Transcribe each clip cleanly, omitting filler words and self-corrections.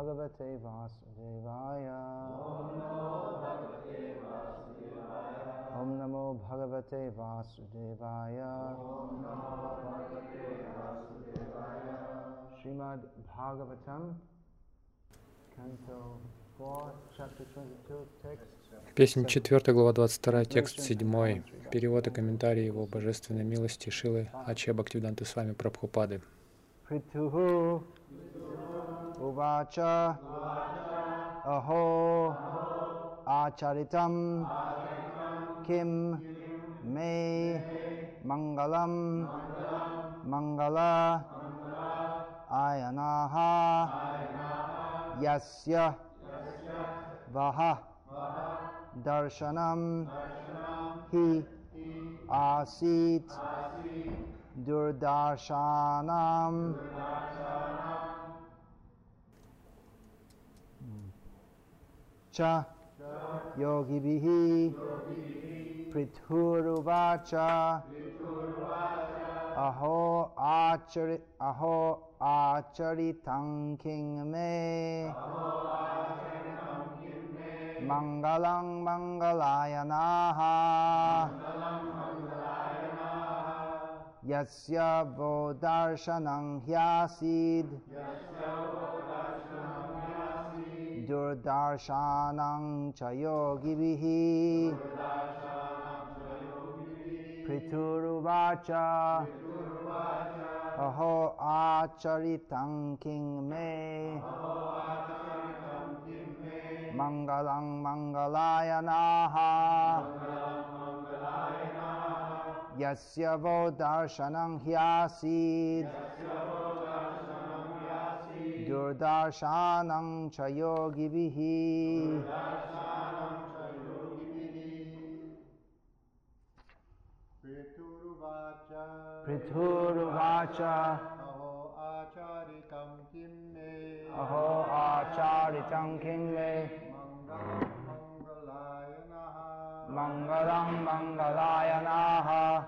Bhagavate Vasudevaya. Om Namo Bhagavate Vasudevaya. Srimad Bhagavatam, Canto 4, Chapter 22, text. Песнь 4, глава 22, текст 7. Перевод и комментарий его божественной милости Шилы Аче Бхактивиданты Свами Прабхупады. Prituhu Uvacha Aho Acharitam Kim Me Mangalam Mangala Ayanaha Yasya Vaha Darshanam Hi Asit Durdarshanam Cha Yogibihi Prithuruvacha Aho Acharitam King Me Mangalang Mangalayanaha Yasya Vodarshanam Hyasid Durdarshanam Chayogibihi Prituruvacha Aho Acharitam King Me Mangalang Mangalayanaha Yasya Vodarshanam Hyasid Durdarshanam Chayogibihi. Prituruvacha Aho Acharitam King Me Mangalam Mangalayanaha.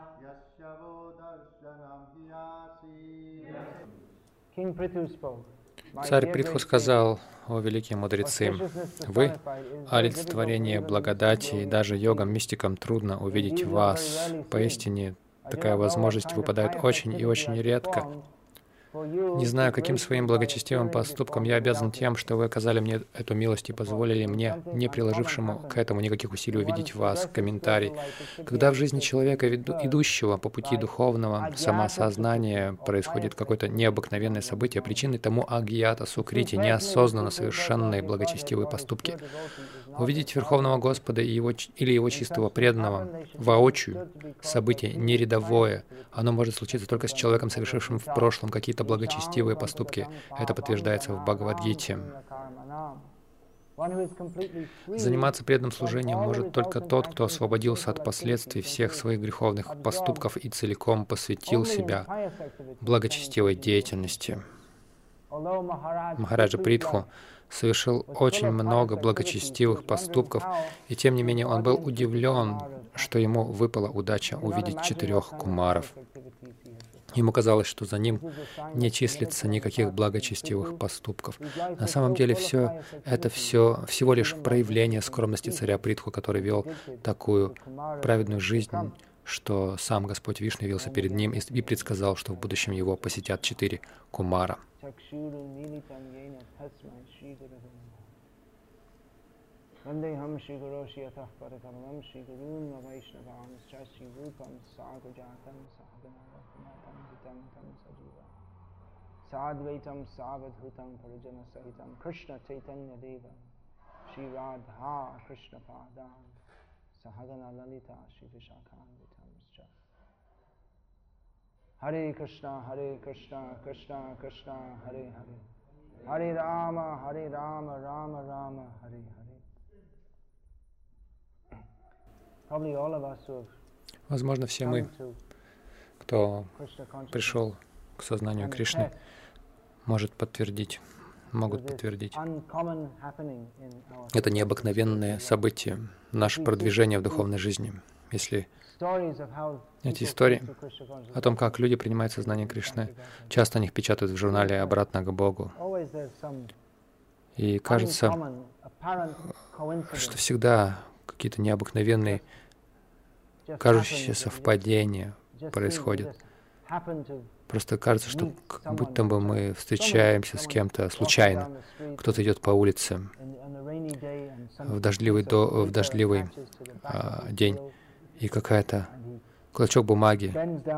King Prithu spoke. Царь Притху сказал: «О великие мудрецы, вы — олицетворение благодати, и даже йогам-мистикам трудно увидеть вас. Поистине, такая возможность выпадает очень и очень редко. Не знаю, каким своим благочестивым поступком я обязан тем, что вы оказали мне эту милость и позволили мне, не приложившему к этому никаких усилий, увидеть вас». Комментарий. Когда в жизни человека, идущего по пути духовного самосознания, происходит какое-то необыкновенное событие, причиной тому агьята, сукрити, неосознанно совершенные благочестивые поступки. Увидеть Верховного Господа или Его чистого преданного воочию — событие не рядовое. Оно может случиться только с человеком, совершившим в прошлом какие-то благочестивые поступки. Это подтверждается в Бхагавад-гите. Заниматься преданным служением может только тот, кто освободился от последствий всех своих греховных поступков и целиком посвятил себя благочестивой деятельности. Махараджа Притху совершил очень много благочестивых поступков, и тем не менее он был удивлен, что ему выпала удача увидеть 4 кумаров. Ему казалось, что за ним не числится никаких благочестивых поступков. На самом деле это всего лишь проявление скромности царя Притху, который вел такую праведную жизнь, что сам Господь Вишну явился перед ним и предсказал, что в будущем его посетят 4 кумара. Sadvaitam Savadhutam Parijana Sahitam Krishna Chaitanya Deva Shri Radha Krishna Padam Sahagana Lalita Shri Vishakhanvitamscha. Hare Krishna Krishna Krishna Hare Hare Hare Rama Rama Rama Hare Hare. Probably all of us who have Возможно, все мы, кто пришел к сознанию Кришны, могут подтвердить. Это необыкновенное событие, наше продвижение в духовной жизни. Если эти истории о том, как люди принимают сознание Кришны, часто о них печатают в журнале «Обратно к Богу». И кажется, что всегда какие-то необыкновенные, кажущиеся совпадения происходят. Просто кажется, что как будто бы мы встречаемся с кем-то случайно. Кто-то идет по улице в дождливый день, и какая-то клочок бумаги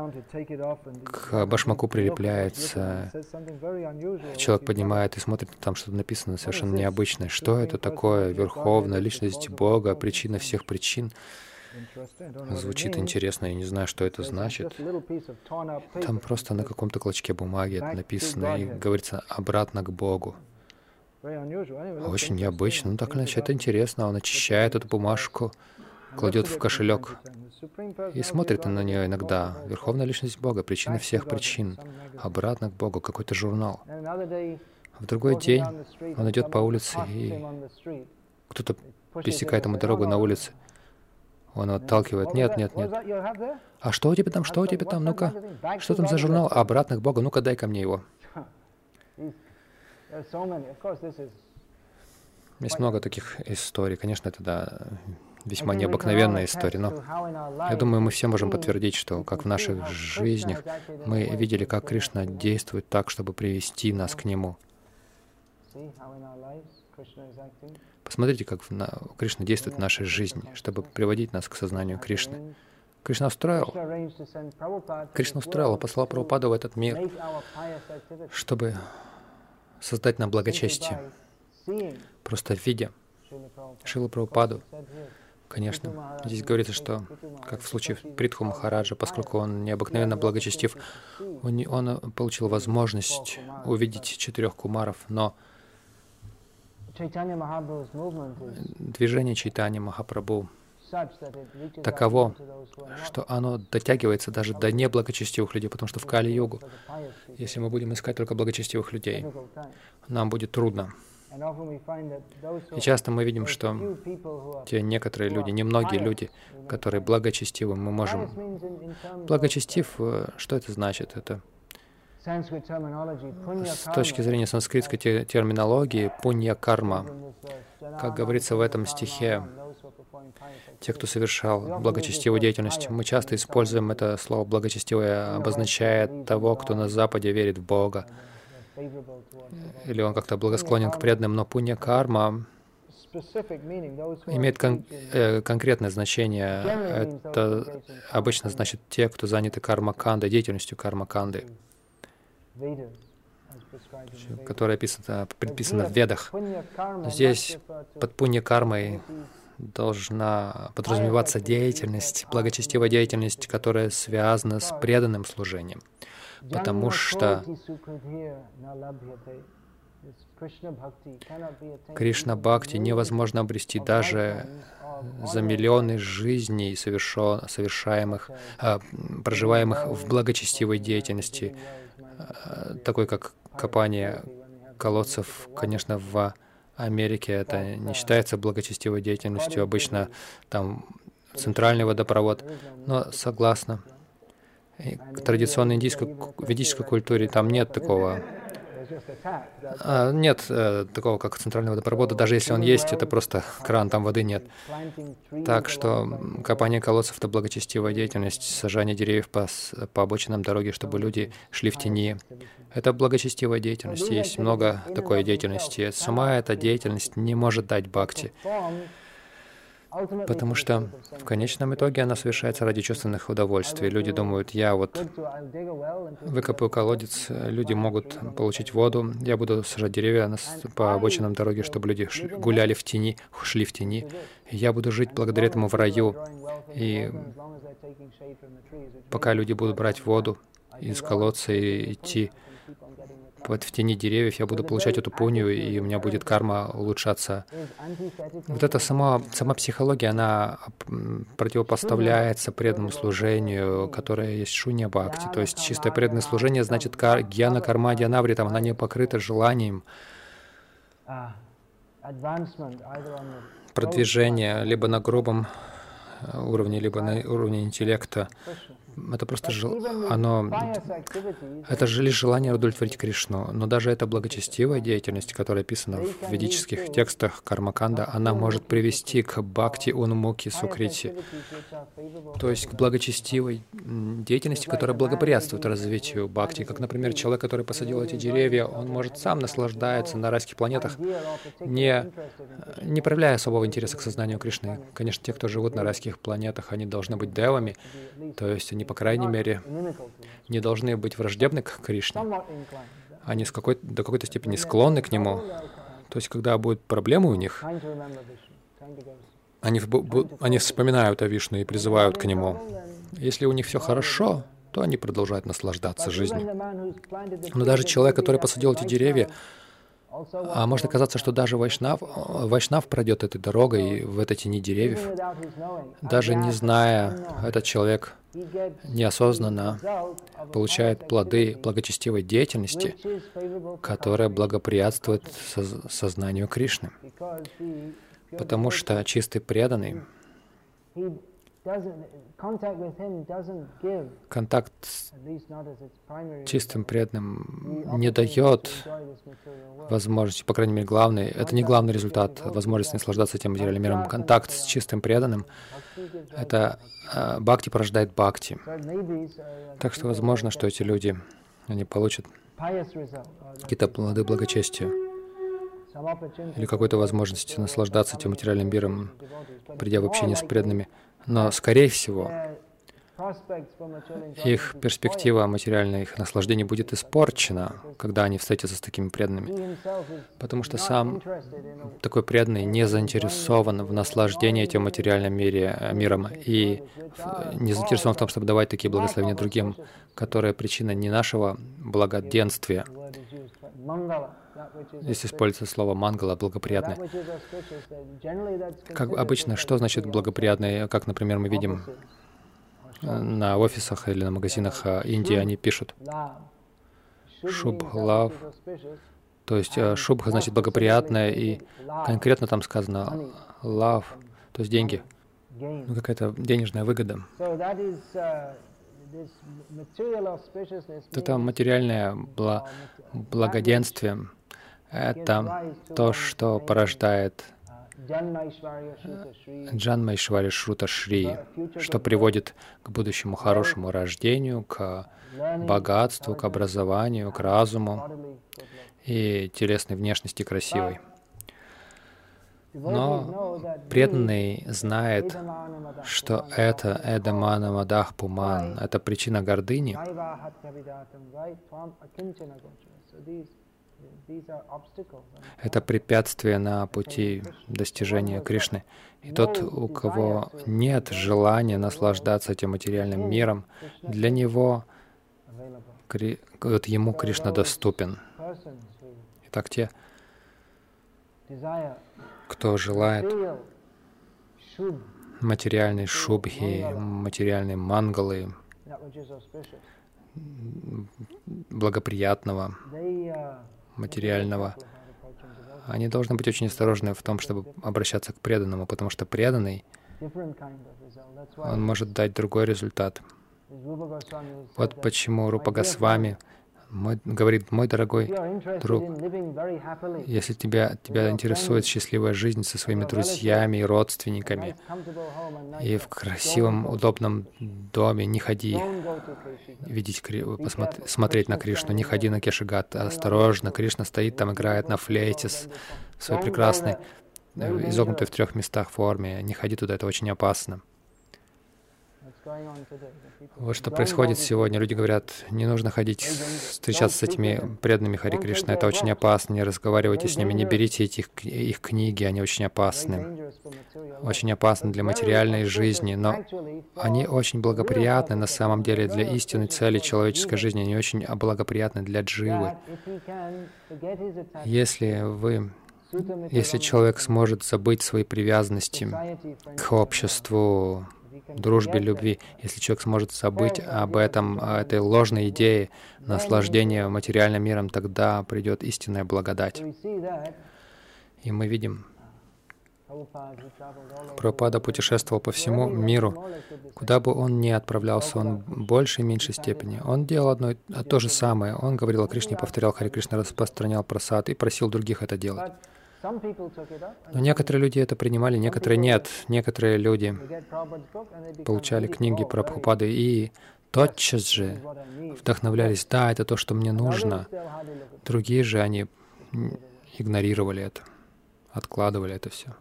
к башмаку прилепляется. Человек поднимает и смотрит, там что-то написано совершенно необычное. Что это такое? Верховная личность Бога, причина всех причин. Звучит интересно, я не знаю, что это значит. Там просто на каком-то клочке бумаги это написано и говорится «обратно к Богу». Очень необычно, ну так иначе это интересно. Он очищает эту бумажку, кладет в кошелек и смотрит на нее иногда. Верховная личность Бога, причина всех причин. Обратно к Богу, какой-то журнал. В другой день он идет по улице, и кто-то пересекает ему дорогу на улице. Он отталкивает. Нет, нет, нет. А что у тебя там? Что у тебя там? Ну-ка. Что там за журнал? Обратно к Богу. Ну-ка, дай ко мне его. Есть много таких историй. Конечно, это, да, весьма необыкновенная история, но я думаю, мы все можем подтвердить, что как в наших жизнях мы видели, как Кришна действует так, чтобы привести нас к Нему. Посмотрите, как Кришна действует в нашей жизни, чтобы приводить нас к сознанию Кришны. Кришна устроил, послал Прабхупаду в этот мир, чтобы создать нам благочестие. Просто видя Шрилу Прабхупаду, конечно, здесь говорится, что, как в случае Притху Махараджа, поскольку он необыкновенно благочестив, он получил возможность увидеть 4 кумаров, но движение Чайтанья Махапрабху таково, что оно дотягивается даже до неблагочестивых людей, потому что в Кали-югу, если мы будем искать только благочестивых людей, нам будет трудно. И часто мы видим, что те некоторые люди, немногие люди, которые благочестивы, мы можем... Благочестив, что это значит? Это с точки зрения санскритской терминологии пунья-карма. Как говорится в этом стихе, те, кто совершал благочестивую деятельность, мы часто используем это слово «благочестивое», обозначая того, кто на Западе верит в Бога, или он как-то благосклонен к преданным, но пунья-карма имеет конкретное значение. Это обычно значит те, кто заняты карма-кандой, деятельностью карма-канды, которая предписана в Ведах. Здесь под пунья-кармой должна подразумеваться деятельность, благочестивая деятельность, которая связана с преданным служением. Потому что Кришна-бхакти невозможно обрести даже за миллионы жизней, проживаемых в благочестивой деятельности, такой как копание колодцев. Конечно, в Америке это не считается благочестивой деятельностью, обычно там центральный водопровод, но согласно традиционной ведической культуре там нет такого. Нет такого, как центральный водопровод. Даже если он есть, это просто кран, там воды нет. Так что копание колодцев — это благочестивая деятельность, сажание деревьев по обочинам дороги, чтобы люди шли в тени. Это благочестивая деятельность. Есть много такой деятельности. Сама эта деятельность не может дать бхакти, потому что в конечном итоге она совершается ради чувственных удовольствий. Люди думают, я вот выкопаю колодец, люди могут получить воду, я буду сажать деревья по обочинам дороги, чтобы люди гуляли в тени, шли в тени. Я буду жить благодаря этому в раю. И пока люди будут брать воду из колодца и идти в тени деревьев, я буду получать эту пунью, и у меня будет карма улучшаться. Вот эта сама психология, она противопоставляется преданному служению, которое есть шунья бхакти. То есть чистое преданное служение значит гьяна карма дьянавритам, она не покрыта желанием продвижения либо на грубом уровне, либо на уровне интеллекта, это просто это же лишь желание удовлетворить Кришну. Но даже эта благочестивая деятельность, которая описана в ведических текстах Кармаканда, она может привести к бхакти унмуки сукрити, то есть к благочестивой деятельности, которая благоприятствует развитию бхакти. Как, например, человек, который посадил эти деревья, он может сам наслаждаться на райских планетах, не проявляя особого интереса к сознанию Кришны. Конечно, те, кто живут на райских планетах, они должны быть девами, то есть они, по крайней мере, не должны быть враждебны к Кришне. Они до какой-то степени склонны к Нему. То есть, когда будут проблемы у них, они вспоминают о Вишну и призывают к Нему. Если у них все хорошо, то они продолжают наслаждаться жизнью. Но даже человек, который посадил эти деревья, может оказаться, что даже Вайшнав пройдет этой дорогой в этой тени деревьев, даже не зная, этот человек неосознанно получает плоды благочестивой деятельности, которая благоприятствует сознанию Кришны. Потому что чистый преданный, контакт с чистым преданным не дает возможности, по крайней мере, это не главный результат возможности наслаждаться этим материальным миром. Контакт с чистым преданным — это бхакти порождает бхакти. Так что возможно, что эти люди, они получат какие-то плоды благочестия или какой-то возможности наслаждаться этим материальным миром, придя в общение с преданными. Но, скорее всего, их перспектива материальной, их наслаждения будет испорчена, когда они встретятся с такими преданными. Потому что сам такой преданный не заинтересован в наслаждении этим материальным миром и не заинтересован в том, чтобы давать такие благословения другим, которые причина не нашего благоденствия. Здесь используется слово «мангала», «благоприятное». Как обычно, что значит «благоприятное»? Как, например, мы видим на офисах или на магазинах Индии, они пишут «шубх-лав», то есть «шубха» значит «благоприятное», и конкретно там сказано «лав», то есть деньги, какая-то денежная выгода. Это материальное благоденствие. Это то, что порождает Джанмайшвари Шрута Шри, что приводит к будущему хорошему рождению, к богатству, к образованию, к разуму и телесной внешности красивой. Но преданный знает, что это Эдамана Мадах Пуман, это причина гордыни. Это препятствие на пути достижения Кришны. И тот, у кого нет желания наслаждаться этим материальным миром, для него, ему Кришна доступен. Итак, те, кто желает материальной шубхи, материальной мангалы, благоприятного, материального, они должны быть очень осторожны в том, чтобы обращаться к преданному, потому что преданный, он может дать другой результат. Вот почему Рупа Госвами говорит: мой дорогой друг, если тебя интересует счастливая жизнь со своими друзьями и родственниками, и в красивом, удобном доме, не ходи смотреть на Кришну, не ходи на Кешагат, осторожно, Кришна стоит там, играет на флейте своей прекрасной, изогнутой в 3 местах форме, не ходи туда, это очень опасно. Вот что происходит сегодня. Люди говорят: не нужно ходить, встречаться с этими преданными Хари Кришна, это очень опасно, не разговаривайте с ними, не берите их книги, они очень опасны. Очень опасны для материальной жизни, но они очень благоприятны на самом деле для истинной цели человеческой жизни, они очень благоприятны для дживы. Если человек сможет забыть свои привязанности к обществу, дружбе, любви, если человек сможет забыть об этом, о этой ложной идее наслаждения материальным миром, тогда придет истинная благодать. И мы видим, Прабхупада путешествовал по всему миру. Куда бы он ни отправлялся, он в большей и меньшей степени. Он делал одно то же самое. Он говорил о Кришне, повторял Харе Кришна, распространял прасад и просил других это делать. Но некоторые люди это принимали, некоторые нет. Некоторые люди получали книги Прабхупады и тотчас же вдохновлялись. Да, это то, что мне нужно. Другие же, они игнорировали это, откладывали это все.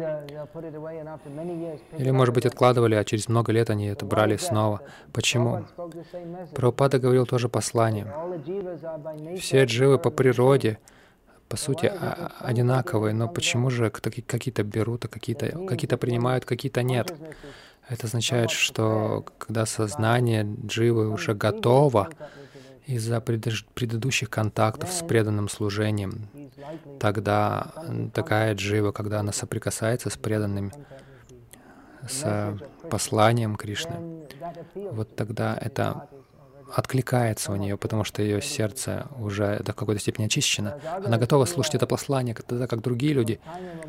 Или, может быть, откладывали, а через много лет они это брали снова. Почему? Прабхупада говорил тоже послание. Все дживы по природе, по сути, одинаковые, но почему же какие-то берут, а какие-то принимают, какие-то нет? Это означает, что когда сознание дживы уже готово из-за предыдущих контактов с преданным служением, тогда такая джива, когда она соприкасается с преданным, с посланием Кришны, вот тогда это откликается у нее, потому что ее сердце уже до какой-то степени очищено. Она готова слушать это послание, тогда как другие люди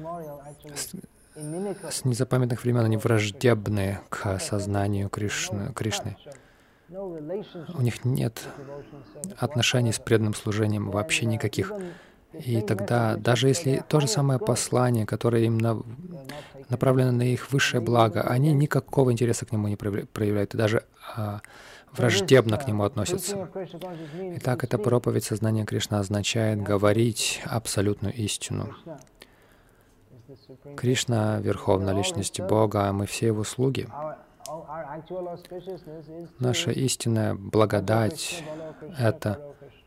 с незапамятных времен, они враждебны к сознанию Кришны. У них нет отношений с преданным служением, вообще никаких. И тогда, даже если то же самое послание, которое им направлено на их высшее благо, они никакого интереса к нему не проявляют, и даже враждебно к нему относятся. Итак, эта проповедь сознания Кришны означает говорить абсолютную истину. Кришна — Верховная Личность Бога, а мы все Его слуги. Наша истинная благодать — это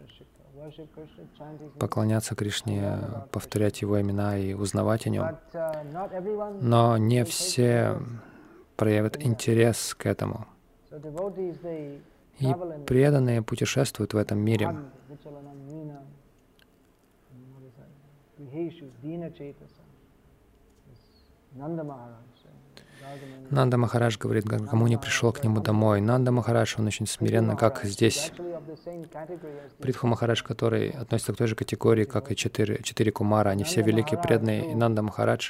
поклоняться Кришне, повторять Его имена и узнавать о Нем. Но не все проявят интерес к этому. И преданные путешествуют в этом мире. Нанда Махарадж говорит, кому не пришел к нему домой. Нанда Махарадж, он очень смиренно, как здесь. Притху Махарадж, который относится к той же категории, как и четыре кумара, они все великие преданные. И Нанда Махарадж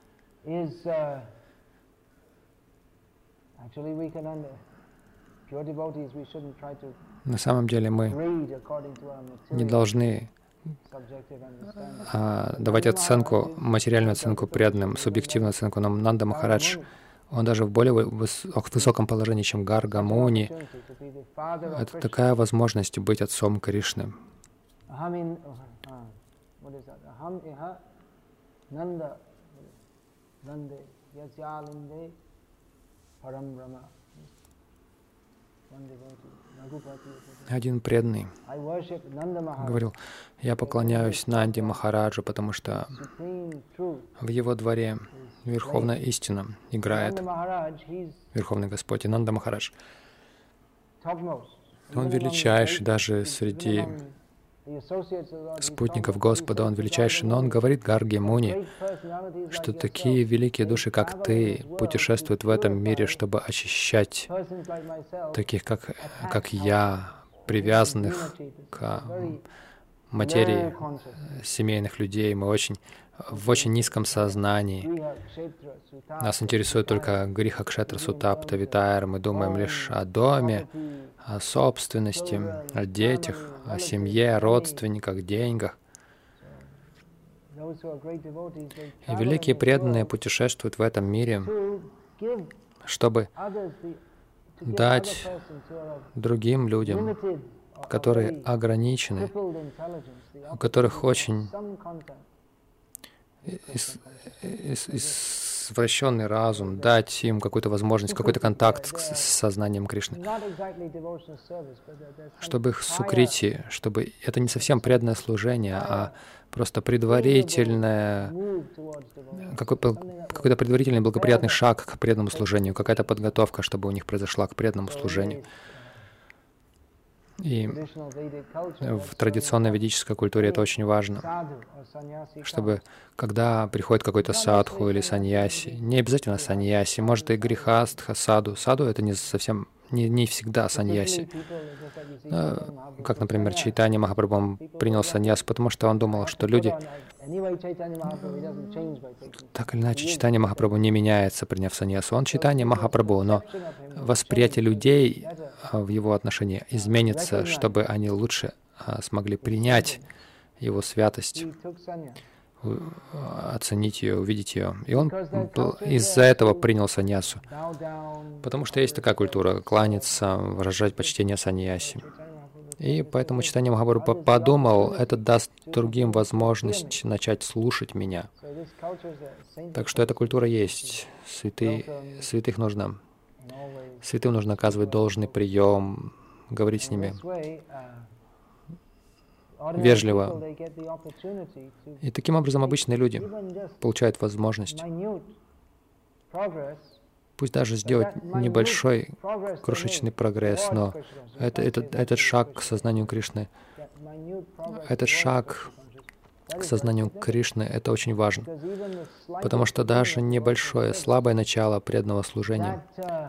на самом деле мы не должны давать оценку, материальную оценку преданным, субъективную оценку. Но Нанда Махарадж, он даже в более высоком положении, чем Гарга Муни. Это такая возможность быть отцом Кришны. Один преданный говорил, я поклоняюсь Нанде Махараджу, потому что в его дворе Верховная истина играет, Верховный Господь. И Нанда Махарадж, он величайший даже среди спутников Господа, он величайший, но он говорит Гарге Муни, что такие великие души, как ты, путешествуют в этом мире, чтобы очищать таких, как я, привязанных к материи семейных людей. Мы в очень низком сознании. Нас интересует только гриха кшетра сутапта витайр. Мы думаем лишь о доме, о собственности, о детях, о семье, о родственниках, деньгах. И великие преданные путешествуют в этом мире, чтобы дать другим людям, которые ограничены, у которых очень извращенный разум, дать им какую-то возможность, какой-то контакт с сознанием Кришны, чтобы их сукрити, чтобы это не совсем преданное служение, а просто предварительное, какой-то предварительный благоприятный шаг к преданному служению, какая-то подготовка, чтобы у них произошла к преданному служению. И в традиционной ведической культуре это очень важно, чтобы когда приходит какой-то садху или саньяси, не обязательно саньяси, может и грихастха, саду. Саду — это не совсем не всегда саньяси. Как, например, Чайтанья Махапрабху он принял саньясу, потому что он думал, что люди... Так или иначе, Чайтанья Махапрабху не меняется, приняв саньясу. Он Чайтанья Махапрабху, но восприятие людей в его отношении изменится, чтобы они лучше смогли принять его святость, оценить ее, увидеть ее. И он из-за этого принял саньясу. Потому что есть такая культура — кланяться, выражать почтение саньяси. И поэтому Чайтанья Махапрабху подумал, это даст другим возможность начать слушать меня. Так что эта культура есть. Святым нужно оказывать должный прием, говорить с ними вежливо. И таким образом обычные люди получают возможность, пусть даже сделать небольшой крошечный прогресс, но этот шаг к сознанию Кришны, это очень важно. Потому что даже небольшое, слабое начало преданного служения,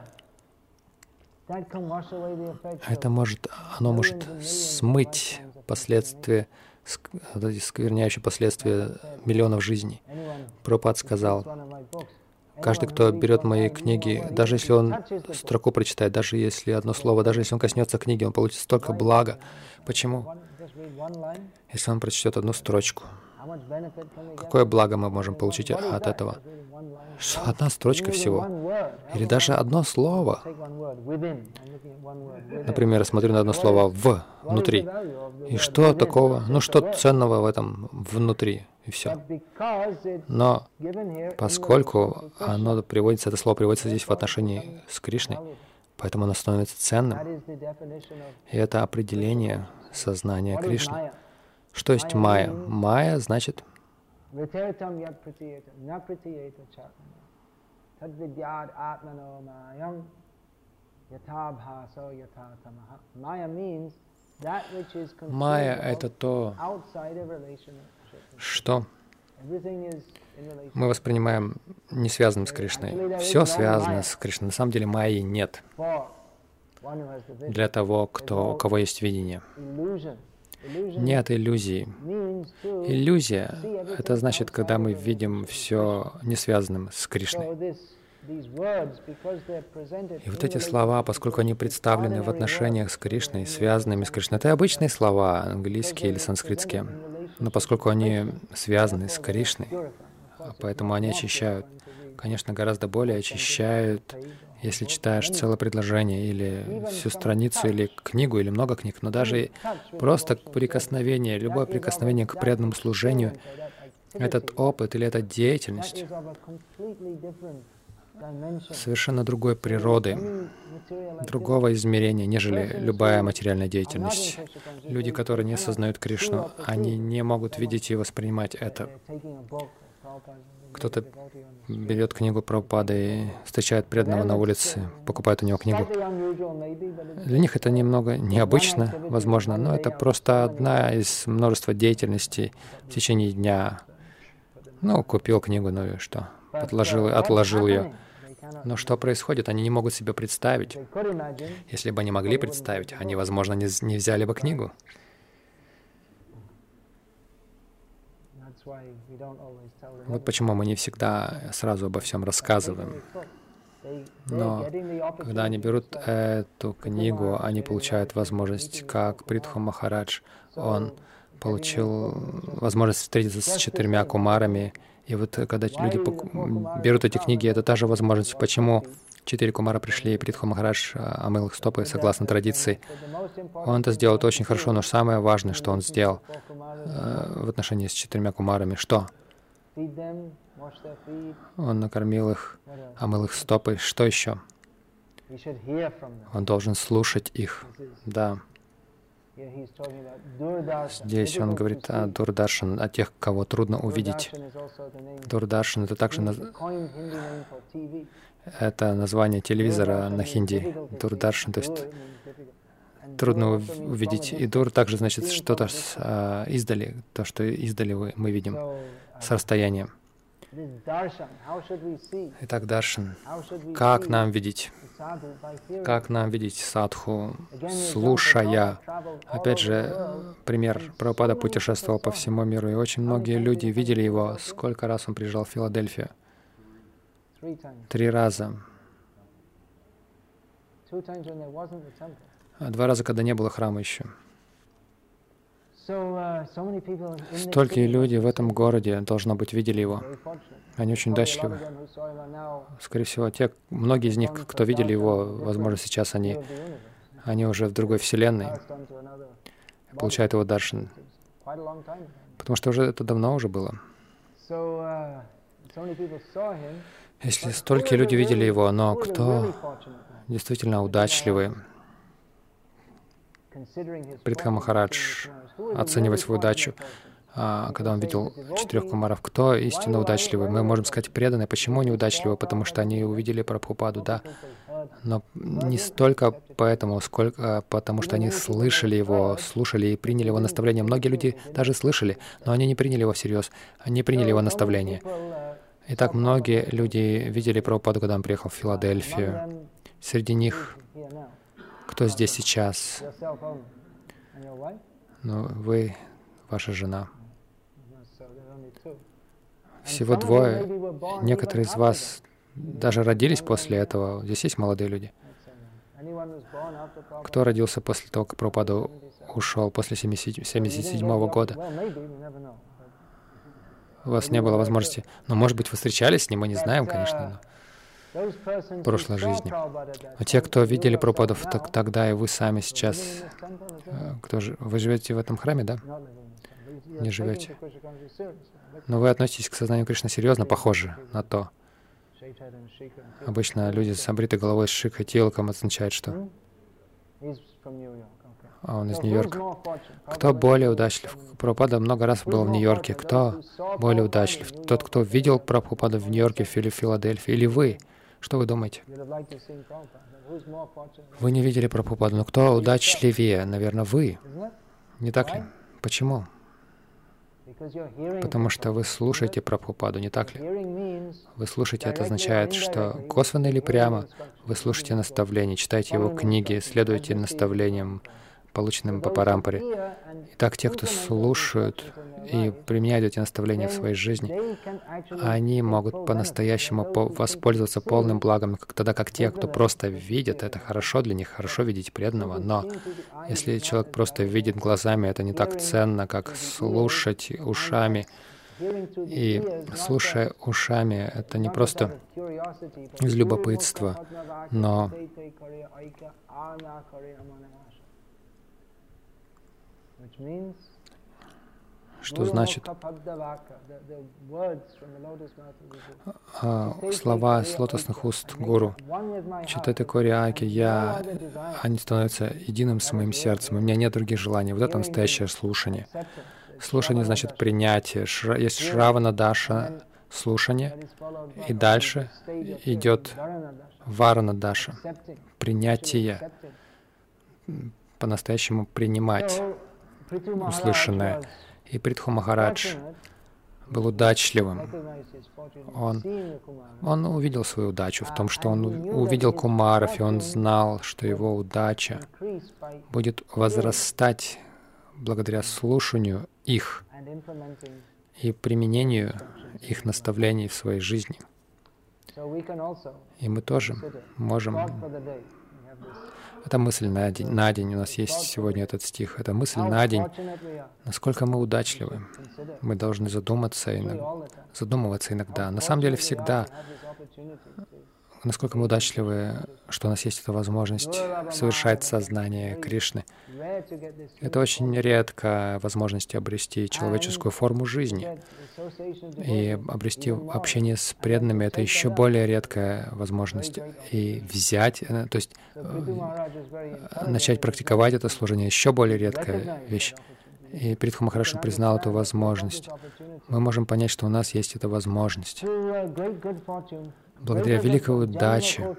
оно может смыть последствия, скверняющие последствия миллионов жизней. Прабхупад сказал, каждый, кто берет мои книги, даже если он строку прочитает, даже если одно слово, даже если он коснется книги, он получит столько блага. Почему? Если он прочтет одну строчку, какое благо мы можем получить от этого? Что одна строчка всего. Или даже одно слово. Например, я смотрю на одно слово «в» внутри. И что такого? Ну, что ценного в этом внутри? И все. Но поскольку это слово приводится здесь в отношении с Кришной, поэтому оно становится ценным. И это определение сознания Кришны. Что есть майя? Майя значит майя — это то, что мы воспринимаем не связанным с Кришной. Все связано с Кришной. На самом деле майи нет для того, у кого есть видение. Нет иллюзии. Иллюзия — это значит, когда мы видим все несвязанным с Кришной. И вот эти слова, поскольку они представлены в отношениях с Кришной, связанными с Кришной, это обычные слова, английские или санскритские, но поскольку они связаны с Кришной, поэтому они очищают. Конечно, гораздо более очищают, если читаешь целое предложение или всю страницу, или книгу, или много книг, но даже просто прикосновение, любое прикосновение к преданному служению, этот опыт или эта деятельность совершенно другой природы, другого измерения, нежели любая материальная деятельность. Люди, которые не осознают Кришну, они не могут видеть и воспринимать это. Кто-то берет книгу Прабхупады и встречает преданного на улице, покупает у него книгу. Для них это немного необычно, возможно, но это просто одна из множества деятельностей в течение дня. Ну, купил книгу, ну и что? Отложил ее. Но что происходит, они не могут себе представить. Если бы они могли представить, они, возможно, не взяли бы книгу. Вот почему мы не всегда сразу обо всем рассказываем. Но когда они берут эту книгу, они получают возможность, как Притху Махарадж, он получил возможность встретиться с 4 кумарами. И вот когда люди берут эти книги, это та же возможность. Почему 4 кумара пришли, и Притху Махарадж омыл их стопы, согласно традиции. Он это сделал очень хорошо, но самое важное, что он сделал в отношении с 4 кумарами, что? Он накормил их, омыл их стопы. Что еще? Он должен слушать их. Да. Здесь он говорит о Дурдаршан, о тех, кого трудно увидеть. Дурдаршан — это также это название телевизора на хинди. Дурдаршан, то есть трудно увидеть. И дур также значит что-то издали, то, что издали мы видим с расстояния. Итак, даршан. Как нам видеть? Как нам видеть садху, слушая? Опять же, пример. Прабхупада путешествовал по всему миру, и очень многие люди видели его. Сколько раз он приезжал в Филадельфию? 3 раза. 2 раза, когда не было храма еще. Столько люди в этом городе, должно быть, видели его. Они очень удачливы. Скорее всего, многие из них, кто видели его, возможно, сейчас они уже в другой вселенной, получают его даршан. Потому что это давно уже было. Если столько люди видели его, но кто действительно удачливый, Притха Махарадж оценивает свою удачу, когда он видел 4 кумаров. Кто истинно удачливый? Мы можем сказать преданные. Почему они удачливы? Потому что они увидели Прабхупаду, да. Но не столько поэтому, сколько потому что они слышали его, слушали и приняли его наставления. Многие люди даже слышали, но они не приняли его всерьез, они не приняли его наставления. Итак, многие люди видели Прабхупаду, когда он приехал в Филадельфию. Среди них, кто здесь сейчас? Ну, вы, ваша жена. Всего 2. Некоторые из вас даже родились после этого. Здесь есть молодые люди. Кто родился после того, как Прабхупада ушел, после 1977 года? У вас не было возможности. Но, может быть, вы встречались с ним, мы не знаем, конечно, в прошлой жизни. А те, кто видели Прабхупаду тогда, и вы сами сейчас, вы живете в этом храме, да? Не живете. Но вы относитесь к сознанию Кришны серьезно, похоже на то. Обычно люди с обритой головой, с шикхой, тилком означает, что он из Нью-Йорка. Кто более удачлив? Прабхупада много раз был в Нью-Йорке. Кто более удачлив? Тот, кто видел Прабхупаду в Нью-Йорке или в Филадельфии, или вы? Что вы думаете? Вы не видели Прабхупаду, но кто удачливее? Наверное, вы. Не так ли? Почему? Потому что вы слушаете Прабхупаду, не так ли? Вы слушаете, это означает, что косвенно или прямо вы слушаете наставления, читаете его книги, следуете наставлениям, полученным по Парампаре. Итак, те, кто слушают и применяют эти наставления в своей жизни, они могут по-настоящему воспользоваться полным благом, тогда как те, кто просто видят, это хорошо для них, хорошо видеть преданного, но если человек просто видит глазами, это не так ценно, как слушать ушами. И слушая ушами, это не просто из любопытства, но что значит слова с лотосных уст Гуру. Читайте Кори-аки, они становятся единым с моим сердцем, у меня нет других желаний. Вот это настоящее слушание. Слушание значит принятие. Есть Шравана-даша, слушание, и дальше идет Варана-даша, принятие, по-настоящему принимать услышанное. И Притху Махарадж был удачливым. Он увидел свою удачу в том, что он увидел кумаров, и он знал, что его удача будет возрастать благодаря слушанию их и применению их наставлений в своей жизни. И мы тоже можем... Это мысль на день. У нас есть сегодня этот стих. Это мысль на день. Насколько мы удачливы. Мы должны задумываться иногда. На самом деле всегда. Насколько мы удачливы, что у нас есть эта возможность совершать сознание Кришны. Это очень редкая возможность обрести человеческую форму жизни. И обрести общение с преданными — это еще более редкая возможность. И взять, то есть начать практиковать это служение — еще более редкая вещь. И Притху Махарадж признал эту возможность. Мы можем понять, что у нас есть эта возможность. благодаря великой удаче.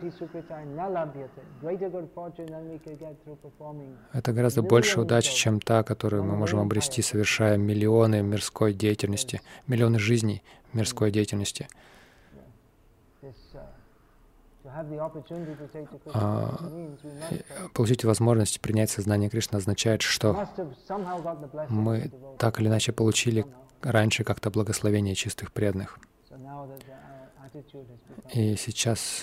Это гораздо больше удачи, чем та, которую мы можем обрести, совершая миллионы мирской деятельности, миллионы жизней мирской деятельности. Получить возможность принять сознание Кришны означает, что мы так или иначе получили раньше как-то благословение чистых преданных. И сейчас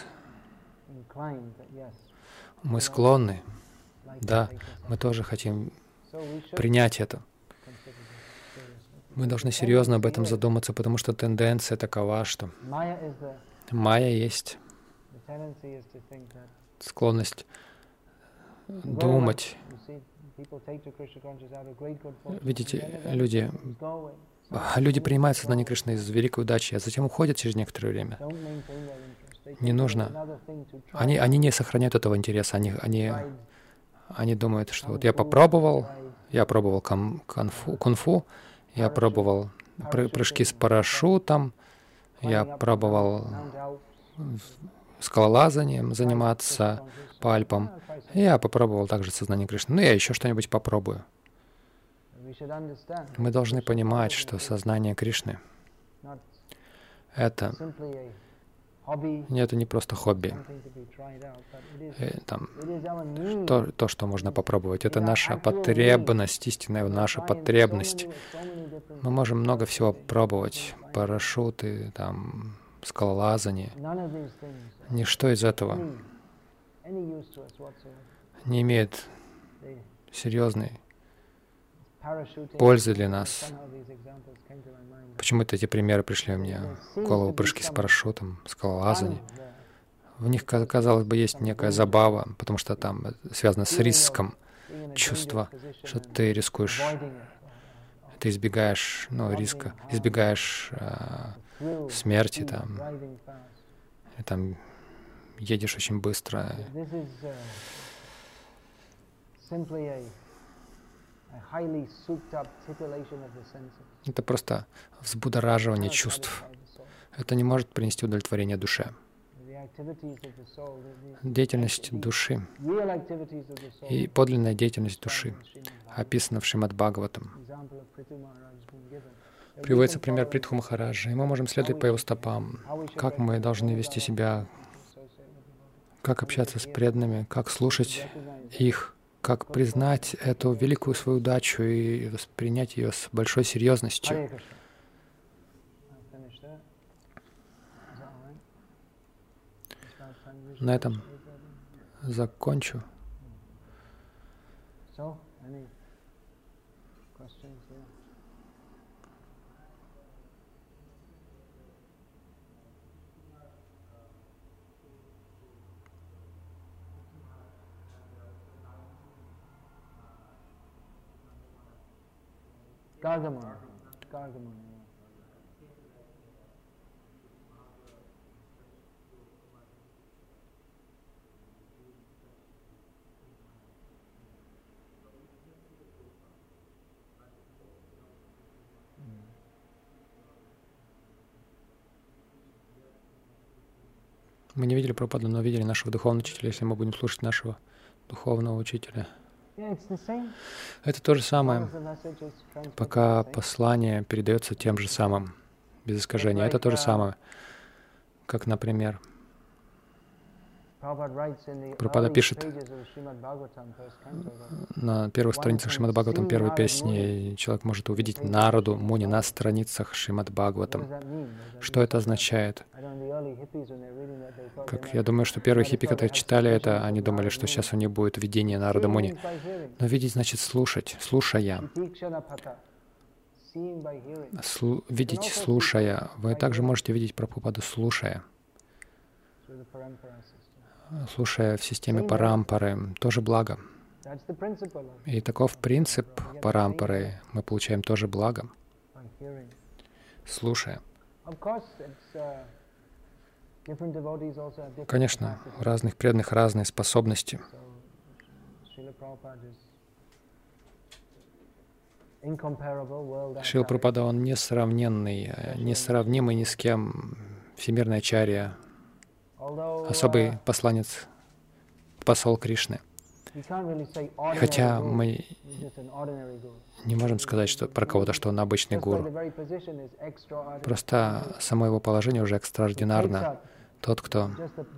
мы склонны, да, мы тоже хотим принять это. Мы должны серьезно об этом задуматься, потому что тенденция такова, что майя есть склонность думать. Видите, люди принимают сознание Кришны из великой удачи, а затем уходят через некоторое время. Не нужно. Они не сохраняют этого интереса. Они думают, что вот я пробовал кунг-фу, я пробовал прыжки с парашютом, я пробовал скалолазанием заниматься по Альпам. Я попробовал также сознание Кришны. Ну, я еще что-нибудь попробую. Мы должны понимать, что сознание Кришны — это не просто хобби. То, что можно попробовать. Это наша потребность, истинная наша потребность. Мы можем много всего пробовать. Парашюты, скалолазание. Ничто из этого не имеет серьезной пользы для нас. Почему-то эти примеры пришли мне в голову: прыжки с парашютом, скалолазание. В них, казалось бы, есть некая забава, потому что там связано с риском, чувство, что ты рискуешь, ты избегаешь риска, избегаешь смерти, и едешь очень быстро. Это просто взбудораживание чувств. Это не может принести удовлетворение душе. Деятельность души и подлинная деятельность души описана в Шримад Бхагаватам. Приводится пример Притху Махараджа, и мы можем следовать по его стопам. Как мы должны вести себя, как общаться с преданными, как слушать их, как признать эту великую свою удачу и воспринять ее с большой серьезностью. На этом закончу. Gargamon. Мы не видели Прабхупаду, но видели нашего духовного учителя, если мы будем слушать нашего духовного учителя. Это то же самое, пока послание передается тем же самым, без искажения. Это то же самое, как, например, Прабхупада пишет на первых страницах Шримад Бхагаватам первой песни, человек может увидеть Нараду Муни на страницах Шримад Бхагаватам. Что это означает? Как я думаю, что первые хиппи, которые читали это, они думали, что сейчас у них будет видение Нарады Муни. Но видеть значит слушать, слушая. Видеть, слушая. Вы также можете видеть Прабхупаду, слушая. Слушая в системе парампары, тоже благо. И таков принцип парампары. Мы получаем тоже благо, слушая. Конечно, у разных преданных разные способности. Шрила Прабхупада, он несравненный, несравнимый ни с кем, всемирный ачарья, особый посланец, посол Кришны. Хотя мы не можем сказать что про кого-то, что он обычный гуру. Просто само его положение уже экстраординарно. Тот, кто...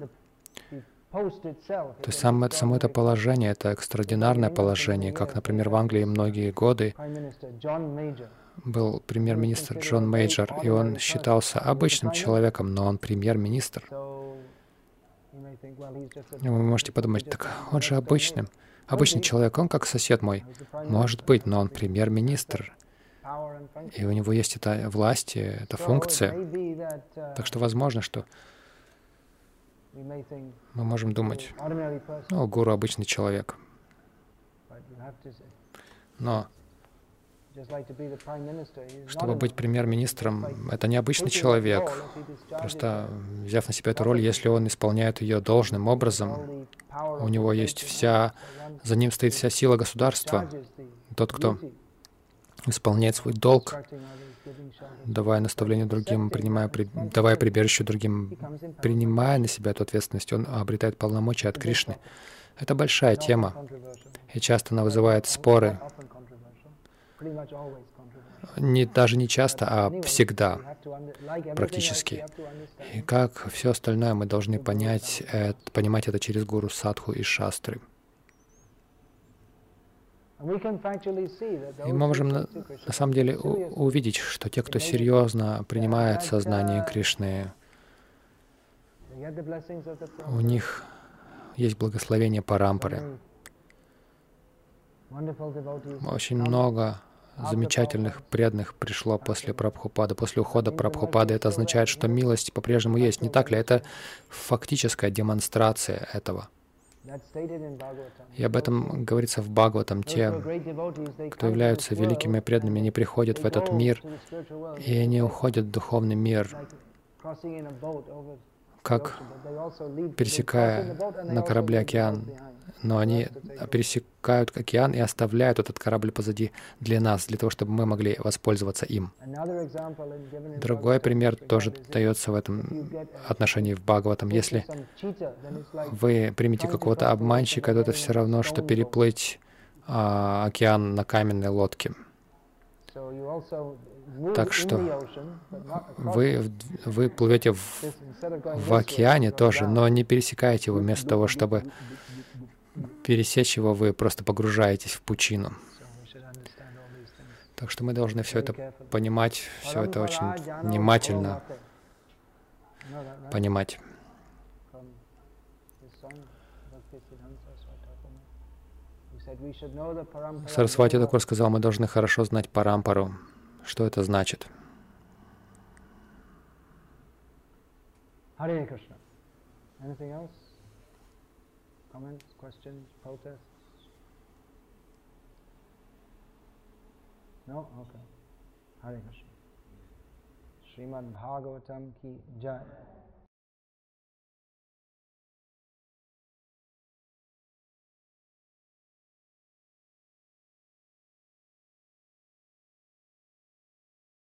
То есть само это положение, это экстраординарное положение, как, например, в Англии многие годы был премьер-министр Джон Мейджор, и он считался обычным человеком, но он премьер-министр. И вы можете подумать, так он же обычный человек, он как сосед мой. Может быть, но он премьер-министр, и у него есть эта власть, эта функция. Так что возможно, что мы можем думать, ну, гуру обычный человек. Но чтобы быть премьер-министром, это не обычный человек. Просто взяв на себя эту роль, если он исполняет ее должным образом, у него есть за ним стоит вся сила государства. Тот, кто исполняет свой долг, давая наставление другим, давая прибежище другим, принимая на себя эту ответственность, он обретает полномочия от Кришны. Это большая тема, и часто она вызывает споры. Даже не часто, а всегда, практически. И как все остальное мы должны понимать это через гуру, садху и шастры. И мы можем на самом деле увидеть, что те, кто серьезно принимает сознание Кришны, у них есть благословение Парампары. Очень много замечательных преданных пришло после Прабхупады, после ухода Прабхупады. Это означает, что милость по-прежнему есть. Не так ли? Это фактическая демонстрация этого. И об этом говорится в Бхагаватам. Те, кто являются великими преданными, не приходят в этот мир, и они уходят в духовный мир, как пересекая на корабле океан. Но они пересекают океан и оставляют этот корабль позади для нас, для того, чтобы мы могли воспользоваться им. Другой пример тоже дается в этом отношении в Бхагаватам. Если вы примете какого-то обманщика, то это все равно, что переплыть океан на каменной лодке. Так что вы плывете в океане тоже, но не пересекаете его. Вместо того, чтобы пересечь его, вы просто погружаетесь в пучину. Так что мы должны все это понимать, все это очень внимательно понимать. Сарасвати Такур сказал, мы должны хорошо знать Парампару. Что это значит? Hare Krishna. Anything else? Comments, questions, protests? No? Okay. Hare Krishna. Srimad Bhagavatam ki jai.